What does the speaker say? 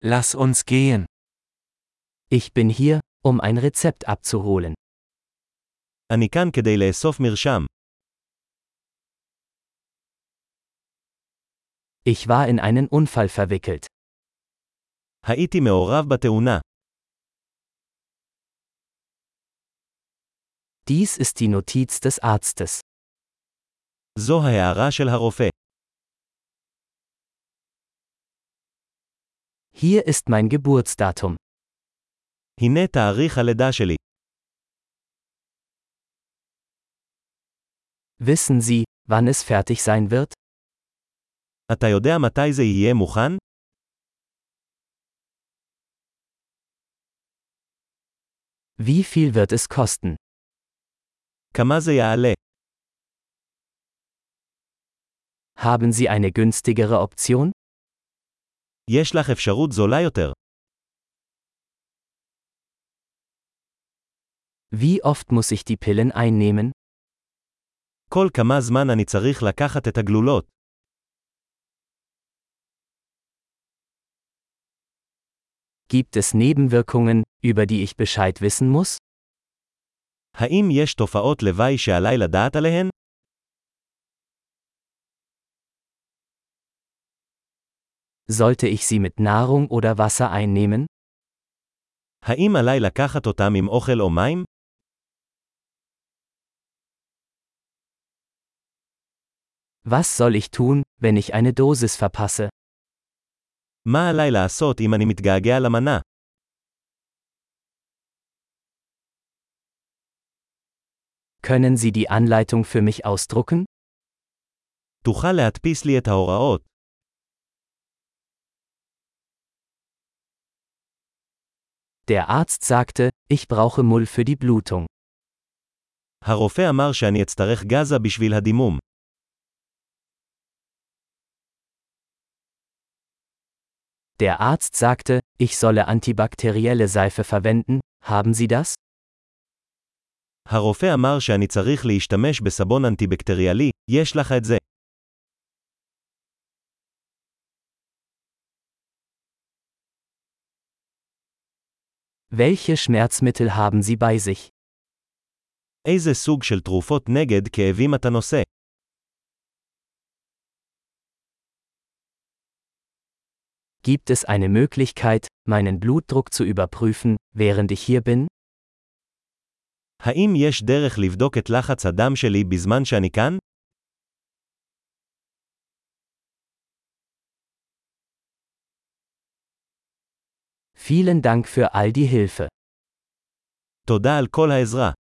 Lass uns gehen. Ich bin hier, um ein Rezept abzuholen. אני כאן כדי לאסוף מרשם. Ich war in einen Unfall verwickelt. הייתי מעורב בתאונה. Dies ist die Notiz des Arztes. זו ההערה של הרופא. Hier ist mein Geburtsdatum. הנה תאריך הלידה שלי. Wissen Sie, wann es fertig sein wird? אתה יודע מתי זה יהיה מוכן? Wie viel wird es kosten? כמה זה יעלה? Haben Sie eine günstigere Option? יש לך אפשרות זולה יותר. Wie oft muss ich die Pillen einnehmen? כל כמה זמן אני צריך לקחת את הגלולות. Gibt es Nebenwirkungen, über die ich Bescheid wissen muss? האם יש תופעות לוואי שעליי לדעת עליהן? Sollte ich sie mit Nahrung oder Wasser einnehmen? האם עליי לקחת אותם עם אוכל או מים? Was soll ich tun, wenn ich eine Dosis verpasse? מה עליי לעשות אם אני מתגעגע למנה? Können Sie die Anleitung für mich ausdrucken? תוכל להדפיס לי את ההוראות. Der Arzt sagte, ich brauche Mull für die Blutung. הרופא אמר שאני אצטרך גזה בשביל הדימום. Der Arzt sagte, ich solle antibakterielle Seife verwenden, haben Sie das? הרופא אמר שאני צריך להשתמש בסבון אנטיבקטריאלי, יש לך את זה. Welche Schmerzmittel haben Sie bei sich? איזה סוג של תרופות נגד כאבים אתה נושא? Gibt es eine Möglichkeit, meinen Blutdruck zu überprüfen, während ich hier bin? האם יש דרך לבדוק את לחץ הדם שלי בזמן שאני כאן? Vielen Dank für all die Hilfe. תודה על כל העזרה.